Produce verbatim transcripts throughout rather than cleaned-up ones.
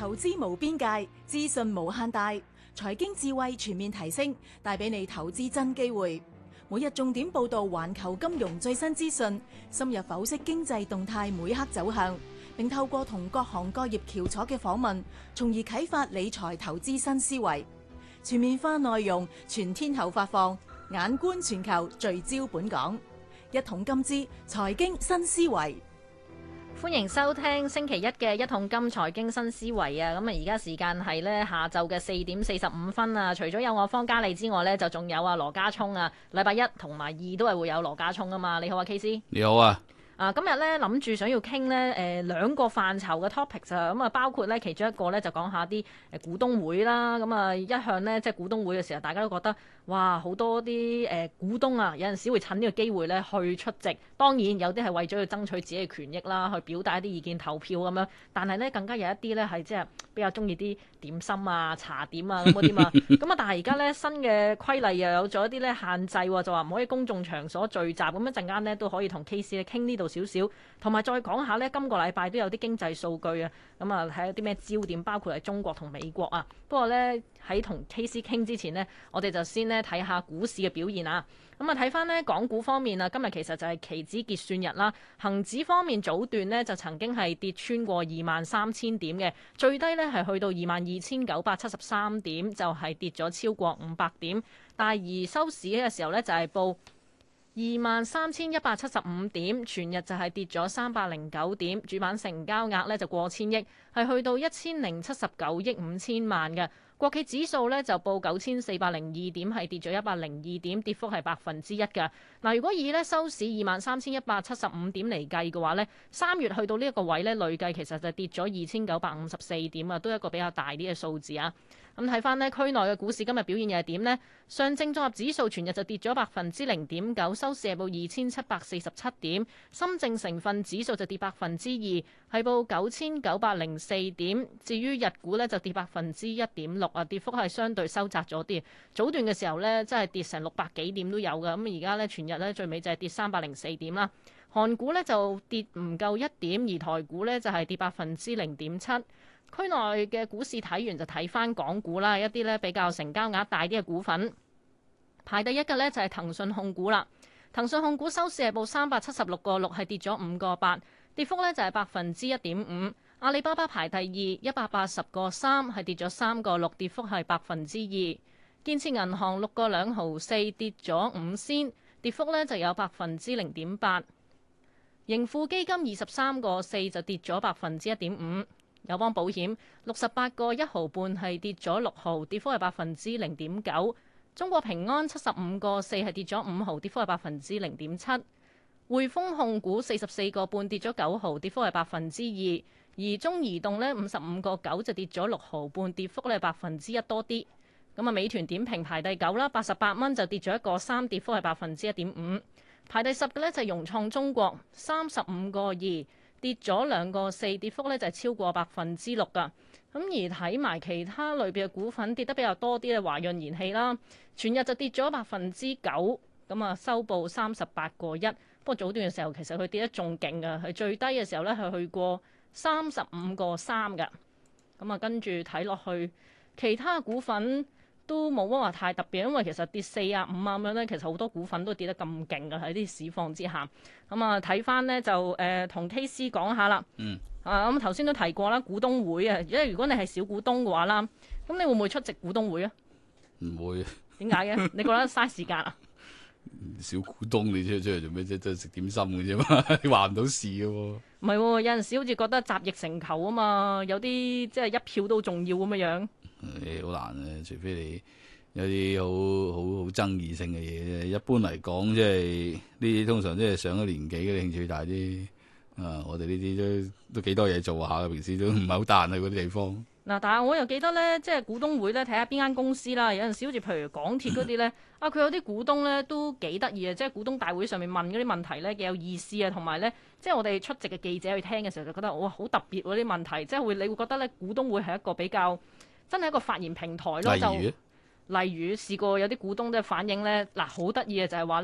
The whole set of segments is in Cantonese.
投資無邊界，資訊無限大，財經智慧全面提升，帶俾你投資真機會。每日重點報導環球金融最新資訊，深入剖析經濟動態每刻走向，並透過同各行各業翹楚嘅訪問，從而啟發理財投資新思維。全面化內容，全天候發放，眼觀全球，聚焦本港。一桶金之財經新思維。 歡迎收聽星期一嘅一桶金財經新思維啊！咁啊，而家時間係咧下晝嘅四點四十五分啊。除咗有我方嘉莉之外呢，就仲有啊羅家聰啊。禮拜一同埋二都係會有羅家聰啊嘛。你好啊 K C。 你好啊。 啊，今日咧諗住想要傾呢誒兩個範疇嘅 topics 啊，咁啊包括咧其中一個咧就講下啲誒股東會啦，咁啊一向呢，即係股東會嘅時候，大家都覺得哇好多啲誒股東啊，有陣時會趁呢個機會咧去出席，當然有啲係為咗要爭取自己嘅權益啦，去表達一啲意見投票咁樣，但係咧更加有一啲咧係即係比較中意啲點心啊、茶點啊咁嗰啲嘛，咁啊但係而家咧新嘅規例又有咗一啲咧限制喎，就話唔可以公眾場所聚集，咁一陣間咧都可以同 K C 咧傾呢度少少，同埋再講下呢，今個禮拜都有啲經濟數據啊，咁啊睇下啲咩焦點，包括係中國同美國啊。不過呢，喺同 K C 傾之前呢，我哋就先呢睇下股市嘅表現啊。咁啊睇翻呢港股方面啊，今日其實就係期指結算日啦。恒指方面早段呢就曾經係跌穿過二萬三千點嘅，最低呢係去到二萬二千九百七十三點，就係、是、跌咗超過五百點。但係而收市嘅時候呢，就係、是、報二萬三千一百七十五點，全日就係跌咗三百零九點，主板成交額呢就過千億，係去到一千零七十九億五千萬嘅。國企指數呢就報九千四百零二點，係跌咗一百零二點，跌幅係百分之一㗎。嗱，如果以呢收市二萬三千一百七十五點嚟計嘅話呢，三月去到呢一個位呢，累計其實就跌咗二千九百五十四點啊，都係一個比較大啲嘅數字啊。咁睇翻呢區內嘅股市今日表現又係點呢？上證綜合指數全日就跌咗百分之零點九，收市係報二千七百四十七點。深證成分指數就跌百分之二，係報九千九百零四點。至於日股呢，就跌百分之一點六啊，跌幅係相對收窄咗啲。早段嘅時候呢，真係跌成六百幾點都有㗎。咁而家呢，全日呢，最尾就係跌三百零四點啦。韓股呢，就跌唔夠一點，而台股呢，就係跌百分之零點七。區內嘅股市睇完就睇翻港股啦，一啲咧比較成交額大啲嘅股份，排第一嘅呢就係騰訊控股啦。騰訊控股收市係報三百七十六個六，係跌咗五個八，跌幅呢就係百分之一點五。阿里巴巴排第二，一百八十個三，係跌咗三個六，跌幅係百分之二。建設銀行六個兩毫四，跌咗五仙，跌幅呢就有百分之零點八。盈富基金二十三個四就跌咗百分之一點五。友邦保險六十八個一毫半，係跌咗六毫，跌幅係百分之零點九。中國平安七十五個四，係跌咗五毫，跌幅係百分之零點七。匯豐控股四十四個半，跌咗九毫，跌幅係百分之二。而中移動呢，五十五個九就跌咗六毫半，跌幅咧百分之一多啲。咁啊，美團點評排第九啦，八十八蚊就跌咗一個三，跌幅係百分之一點五。排第十嘅呢，就係融創中國三十五個二。跌咗兩個四，跌幅咧就係超過百分之六㗎。咁而睇埋其他類別嘅股份跌得比較多啲嘅華潤燃氣啦，全日就跌咗百分之九，咁啊收報三十八個一。不過早段嘅時候其實佢跌得仲勁㗎，係最低嘅時候咧係去過三十五個三㗎。咁啊跟住睇落去其他股份都冇乜話太特別，因為其實跌四啊五啊咁樣咧，其實好多股份都跌得咁勁㗎喺啲市況之下。咁啊睇翻呢，就誒同、呃、K C 講下啦。 嗯。 啊咁頭先都提過啦，股東會啊，因為如果你係小股東嘅話啦，咁你會唔會出席股東會啊？ 唔會。點解嘅？你覺得嘥時間啊？ 小股東你出出嚟做咩啫？都係食點心嘅啫嘛，你話唔到事嘅喎。唔係喎，有陣時好似覺得集腋成裘啊嘛，有啲即係一票都重要咁樣樣。 誒好難啊，除非你有啲好好好爭議性嘅嘢啫。一般嚟講，即係呢啲通常即係上咗年紀嘅興趣大啲。啊，我哋呢啲都都幾多嘢做下嘅，平時都唔係好得閒去嗰啲地方。 嗱，但係我又記得咧，即係股東會咧，睇下邊間公司啦。有陣時好似譬如港鐵嗰啲咧，啊佢有啲股東咧都幾得意啊！即係股東大會上面問嗰啲問題咧幾有意思啊，同埋咧，即係我哋出席嘅記者去聽嘅時候就覺得哇好特別喎啲問題，即係會你會覺得咧股東會係一個比較真係一個發言平台咯。 例如， 就例如試過有啲股東都反映咧，嗱好得意嘅就係話咧，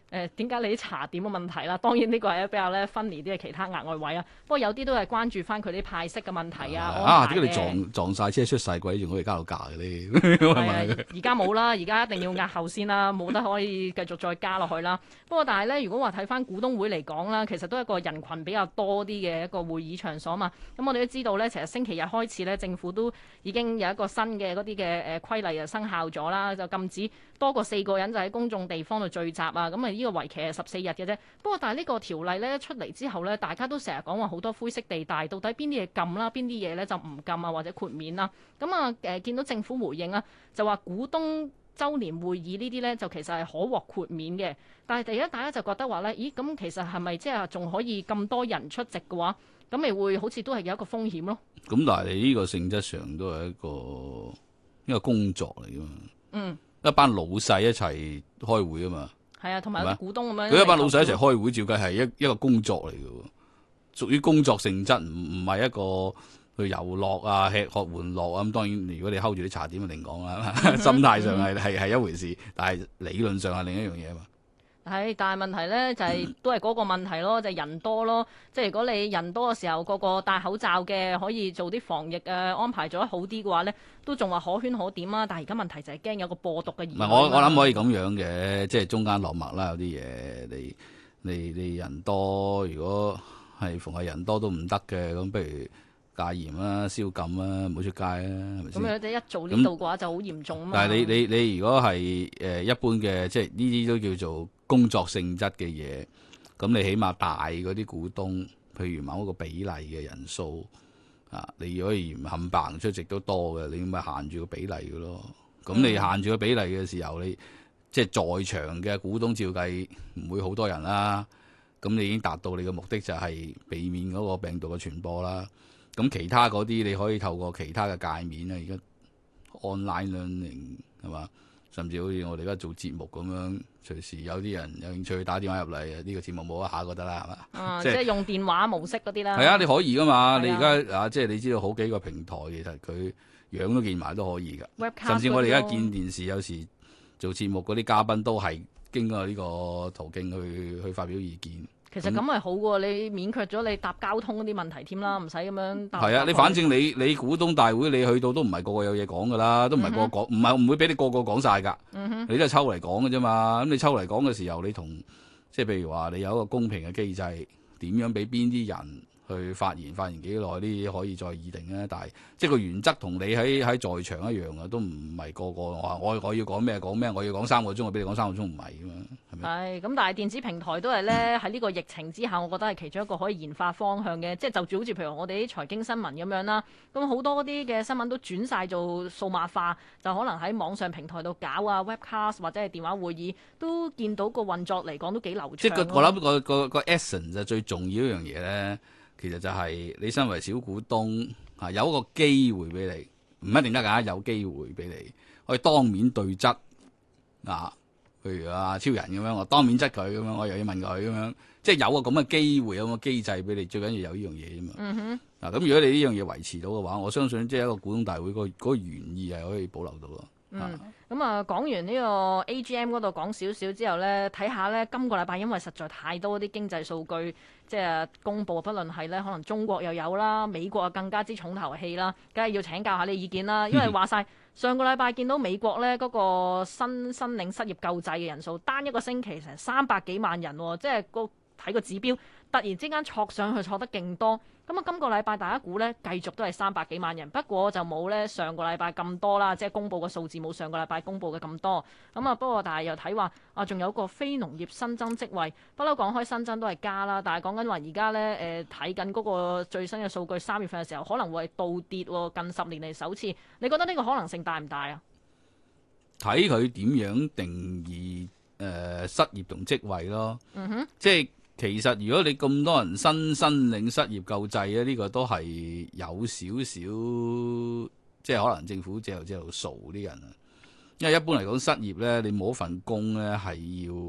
誒點解你啲茶點嘅問題啦？當然呢個係比較咧分離啲嘅其他額外位啊。不過有啲都係關注翻佢啲派息嘅問題啊。 啊，點解你撞撞曬車出晒軌，仲可以加到價嘅咧？ 係啊，而家冇啦，而家一定要押後先啦，冇得可以繼續再加落去啦。不過但係咧，如果話睇翻股東會嚟講啦，其實都係一個人群比較多啲嘅一個會議場所嘛。咁我哋都知道咧，其實星期日開始咧，政府都已經有一個新嘅嗰啲嘅誒規例啊生效咗啦，就禁止多過四個人就喺公眾地方度聚集啊。咁啊，呢個為期係十四日嘅啫。不過但係呢個條例咧出嚟之後咧，大家都成日講話好多灰色地帶，到底邊啲嘢禁啦，邊啲嘢咧就唔禁啊，或者豁免啦。咁啊誒，見到政府回應啊，就話股東週年會議呢啲呢，就其實係可獲豁免嘅。但係第一大家就覺得話呢，咦咁其實係咪即係仲可以咁多人出席嘅話，咁咪會好似都係有一個風險咯。 咁但係你呢個性質上都係一個一個工作嚟噶嘛。嗯，一班老細一齊開會啊嘛。係啊，同埋有啲股東咁樣。 佢一班老細一齊開會，照計係一一個工作嚟嘅喎，屬於工作性質，唔唔係一個去遊樂啊、吃喝玩樂啊。咁當然，如果你 hold 住啲茶點，就另講啦。心態上係係係一回事，但係理論上係另一樣嘢啊嘛。 係，但係問題咧就係、是、都係嗰個問題咯，就係、是、人多咯。即係如果你人多嘅時候，個個戴口罩嘅，可以做啲防疫啊安排做得好啲嘅話咧，都仲話可圈可點啊。但係而家問題就係驚有個播毒嘅疑慮。唔係， 我我諗可以咁樣嘅，即係中間落墨啦。有啲嘢你你你人多，如果係逢係人多都唔得嘅，咁不如戒嚴啦、宵禁啦，唔好出街啦，係咪先？咁樣一做呢度嘅話就好嚴重啊嘛。 但係你你你如果係誒一般嘅，即係呢啲都叫做工作性質嘅嘢，咁你起碼大嗰啲股東，譬如某一個比例嘅人數啊，你如果唔冚唪唥出席都多嘅，你咪限住個比例嘅咯。咁你限住個比例嘅時候，你即係在場嘅股東照計唔會好多人啦。咁你已經達到你嘅目的，就係避免嗰個病毒嘅傳播啦。咁其他嗰啲你可以透過其他嘅界面啊，而家 online learning 係嘛，甚至好似我哋而家做節目咁樣，隨時有啲人有興趣打電話入嚟，呢、呢個節目冇一下覺得啦，係嘛？ 啊，即係用電話模式嗰啲啦。 係啊，你可以噶嘛？ 啊、 你而家啊，即係你知道好幾個平台，其實佢樣都見埋都可以㗎。 Webcast 甚至我哋而家見電視，有時做節目嗰啲嘉賓都係經過呢個途徑去去發表意見。 其實咁係好喎，你免卻咗你搭交通嗰啲問題添啦，唔使咁樣搭。 係啊，你反正你你股東大會你去到都唔係個個有嘢講㗎啦，都唔係個個講，唔係唔會俾你個個講晒㗎。嗯、哼你都係抽嚟講㗎啫嘛。咁你抽嚟講嘅時候，你同即係譬如話你有一個公平嘅機制，點樣俾邊啲人去發言，發言幾耐呢啲可以再議定咧。但係即係個原則同你喺喺在，在場一樣啊，都唔係個個話我我要講咩講咩，我要講三個鐘，我俾你講三個鐘唔係㗎嘛。 係咁，但係電子平台都係咧喺呢個疫情之下，我覺得係其中一個可以研發方向嘅。即係就住好似譬如我哋啲財經新聞咁樣啦，咁好多啲嘅新聞都轉晒做數碼化，就可能喺網上平台度搞啊 webcast 或者係電話會議，都見到個運作嚟講都幾流暢。 即係我諗個個個 essence 就最重要一樣嘢咧，其實就係你身為小股東啊，有一個機會俾你，唔一定得㗎，有機會俾你可以當面對質啊。譬如啊超人咁樣，我當面質佢咁樣，我又要問佢咁樣，即係有個咁嘅機會，有個機制俾你，最緊要有呢樣嘢啫嘛。嗯哼。嗱、啊，咁如果你呢樣嘢維持到嘅話，我相信即係一個股東大會嗰嗰個原意係可以保留到咯。 嗯。咁啊，講完呢個 A G M 嗰度講少少之後呢，睇下呢今個禮拜因為實在太多啲經濟數據即係公佈，不論係呢可能中國又有啦，美國啊更加之重頭戲啦，梗係要請教下你意見啦，因為話晒。上個禮拜見到美國呢嗰、那個新申領失業救濟嘅人數，單一個星期成三百幾萬人、哦，即係個睇個指標，突然之間挫上去，挫得勁多。咁啊，今個禮拜大家估呢繼續都係三百幾萬人，不過就冇呢上個禮拜咁多啦，即係公佈嘅數字冇上個禮拜公佈嘅咁多。咁啊，不過但係又睇話啊，仲有個非農業新增職位，不嬲講開新增都係加啦，但係講緊話而家呢，誒睇緊嗰個最新嘅數據，三月份嘅時候可能會係倒跌喎，近十年嚟首次。你覺得呢個可能性大唔大啊？ 睇佢點樣定義誒、呃、失業同職位咯。嗯哼，即係。其實如果你咁多人新申領失業救濟咧，呢、這個都係有少少，即係可能政府借頭借頭傻啲人啊。因為一般嚟講失業咧，你冇一份工咧係要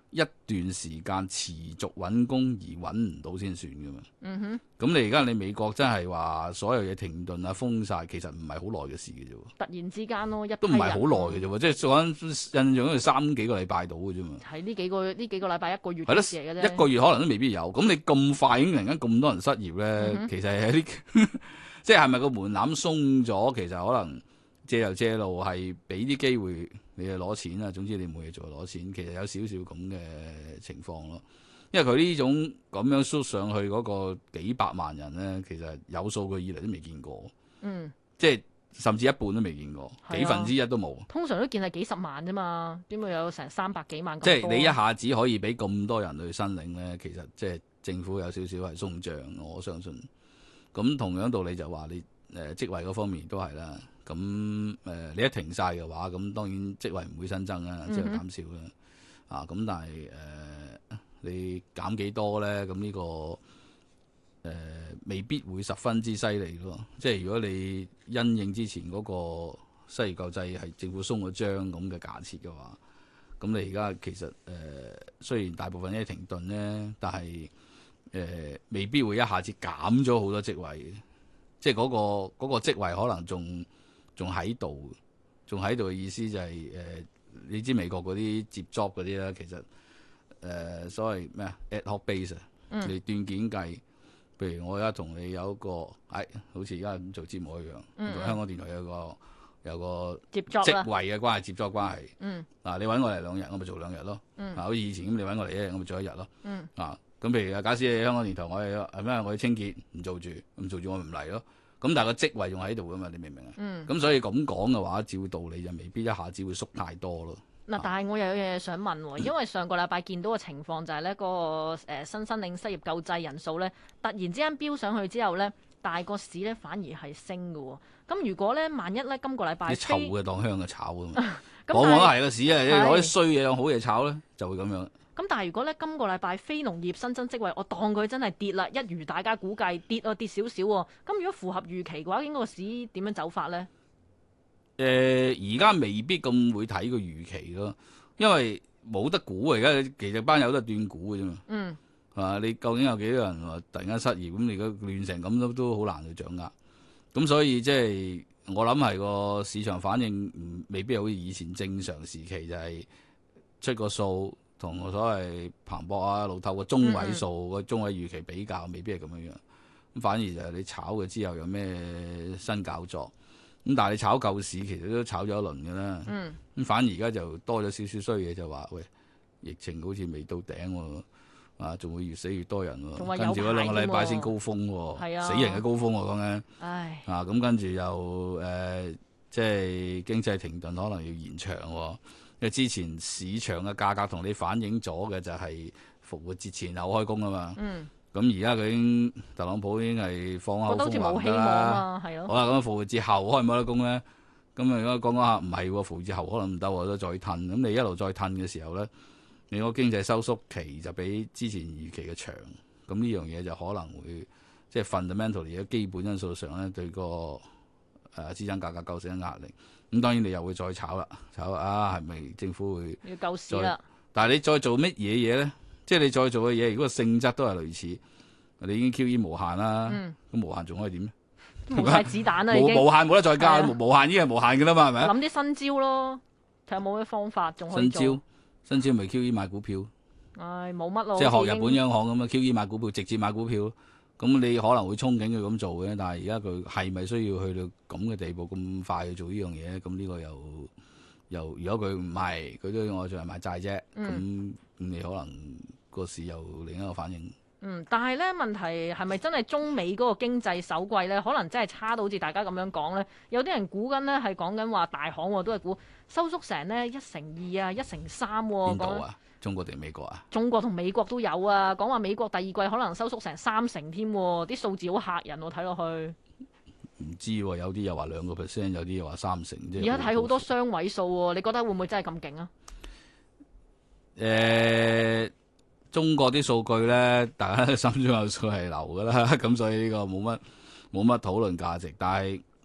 一段時間持續揾工而揾唔到先算噶嘛。 嗯哼。 咁你而家你美國真係話所有嘢停頓啊封晒，其實唔係好耐嘅事嘅啫喎。 突然之間咯，一都唔係好耐嘅啫喎，即係講印象中係三幾個禮拜到嘅啫嘛。 係呢幾個呢幾個禮拜一個月係咯， 嘅事嚟嘅啫。 一個月可能都未必有。咁你咁快已經突然間咁多人失業咧， 嗯、哼其實係啲即係係咪個門檻鬆咗？其實可能借又借路係俾啲機會你去攞錢啊。總之你冇嘢做就攞錢，其實有少少咁嘅情況咯。因為佢呢種咁樣縮上去嗰個幾百萬人咧，其實有數據以嚟都未見過。 嗯， 即係甚至一半都未見過， 啊、 幾分之一都冇。 通常都見係幾十萬啫嘛，點會有成三百幾萬咁多？ 即係你一下子可以俾咁多人去申領咧，其實即係政府有少少係鬆脹，我相信。咁同樣道理就話你誒、呃、職位嗰方面都係啦。咁誒、呃、你一停晒嘅話，咁當然職位唔會新增啦，即係減少啦。啊，咁但係誒。呃你減幾多咧？咁呢、這個誒、呃、未必會十分之犀利咯。即係如果你因應之前嗰個失業救濟係政府鬆咗張咁嘅假設嘅話，咁你而家其實誒、呃、雖然大部分嘢停頓咧，但係誒、呃、未必會一下子減咗好多職位。即係嗰、那個嗰、那個職位可能仲仲喺度，仲喺度嘅意思就係、是、誒、呃、你知美國嗰啲接 job 嗰啲咧，其實。誒、呃、所謂咩啊 ad hoc base 啊、嗯，你斷件計，譬如我而家同你有一個，哎，好似而家咁做節目一樣，同、嗯、香港電台有個有個職位嘅關係，接觸關係。嗯，嗱、啊，你揾我嚟兩日，我咪做兩日咯。嗯，啊，好似以前咁，你揾我嚟一日，我咪做一日咯。嗯，啊，咁譬如啊，假使你香港電台，我係係咩？我要清潔，唔做住，唔做住我咪唔嚟咯。咁但係個職位仲喺度噶嘛？你明唔明啊？嗯，咁所以咁講嘅話，照道理就未必一下子會縮太多咯。 嗱，但係我又有嘢想問喎，因為上個禮拜見到嘅情況就係咧，嗰個誒新申領失業救濟人數咧，突然之間飆上去之後咧，大個市咧反而係升嘅喎。咁如果咧，萬一咧今個禮拜， 啲臭嘅當香嘅炒啊嘛，往往都係個市啊，你攞啲衰嘢當好嘢炒咧，就會咁樣。 咁但係如果咧今個禮拜非農業新增職位，我當佢真係跌啦，一如大家估計跌啊跌少少喎。咁如果符合預期嘅話，應該個市點樣走法咧？ 誒而家未必咁會睇個預期咯，因為冇得估啊！而家其實班友都係斷估嘅啫嘛。嗯，係嘛？你究竟有幾多人話突然間失業？咁你而家亂成咁都都好難去掌握。咁所以即係我諗係個市場反應唔未必好似以前正常時期就係出個數同個所謂彭博啊、路透個中位數個、嗯、中位預期比較，未必係咁樣樣。咁反而就係你炒嘅之後有咩新搞作。咁但係你炒舊市其實都炒咗一輪㗎啦，咁、嗯、反而而家就多咗少少衰嘢，就話喂，疫情好似未到頂喎，啊仲會越死越多人喎，跟住嗰兩個禮拜先高峰喎， 啊、 死人嘅高峰喎講緊， 唉啊咁跟住又誒、呃、即係經濟停頓可能要延長喎，因為之前市場嘅價格同你反映咗嘅就係復活節前後開工啊嘛。嗯咁而家佢已經特朗普已經係放口風話㗎啦，係咯。好啦，咁復活節後開唔開得工咧？咁啊，而家講講下，唔係喎，復活節後可能唔得喎，都再褪。咁你一路再褪嘅時候咧，你個經濟收縮期就比之前預期嘅長。咁呢樣嘢就可能會即係 fundamentally 嘅基本因素上咧，對個誒資產價格構成壓力。咁當然你又會再炒啦，炒啊係咪政府會要救市啦？ 但係你再做乜嘢嘢咧？即係你再做嘅嘢，如果個性質都係類似，你已經 Q E 無限啦，咁、嗯、無限仲可以點咧？ 冇晒子彈啦，已經無限冇得再加，無限已經係無限嘅啦嘛，係咪？ 諗啲新招咯，睇下冇咩方法仲可以做。 新招，新招咪 Q E 買股票。 唉，冇乜咯。 即係學日本央行咁啊，Q E 買股票，直接買股票。咁你可能會憧憬佢咁做嘅，但係而家佢係咪需要去到咁嘅地步咁快去做呢樣嘢？咁呢個又又如果佢唔係，佢都我仲係買債啫。咁、嗯、咁你可能。個市又另一個反應。 嗯，但係咧問題係咪真係中美嗰個經濟首季咧，可能真係差到好似大家咁樣講咧？有啲人估緊咧係講緊話大行都係估收縮成呢一成二啊，一成三喎。 邊度啊？中國定美國啊？ 中國同美國都有啊，講話美國第二季可能收縮成三成添，啲數字好嚇人喎，睇落去。 唔知喎，有啲又話兩個 percent，有啲又話三成。 而家睇好多雙位數喎，你覺得會唔會真係咁勁啊？ 誒、欸。中國啲數據咧，大家心中有數係流㗎啦，咁所以呢個冇乜冇乜討論價值。但係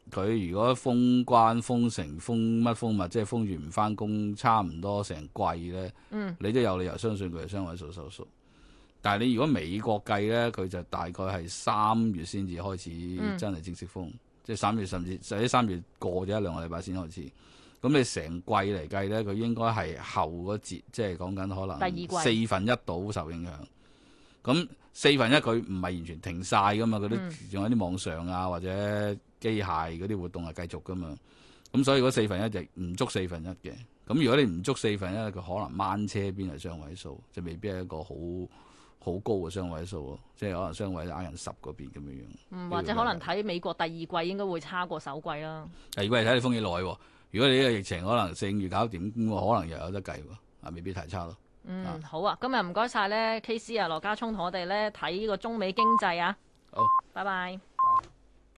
佢如果封關、封城、封乜封物，即係封住唔翻工，差唔多成季咧， 嗯、 你都有理由相信佢係雙位數收縮。但係你如果美國計咧，佢就大概係三月先至開始真係正式封，嗯、即係三月甚至或者三月過咗一兩個禮拜先開始。咁你成季嚟計咧，佢應該係後嗰節，即係講緊可能四分一度受影響。咁四分一佢唔係完全停晒噶嘛，佢都仲有啲網上啊或者機械嗰啲活動係繼續噶嘛。咁所以嗰四分一就唔足四分一嘅。咁如果你唔足四分一，佢可能掹車邊係雙位數，就未必係一個好好高嘅雙位數咯。即係可能雙位挨近十嗰邊咁樣樣。 嗯，或者可能睇美國第二季應該會差過首季啦。 第二季睇你封幾耐喎？如果你呢個疫情可能四五月搞掂，咁可能又有得計喎，啊未必太差咯。 嗯，啊好啊，今日唔該晒咧，K C 啊，羅家聰同我哋咧睇呢個中美經濟啊。 好， 拜拜。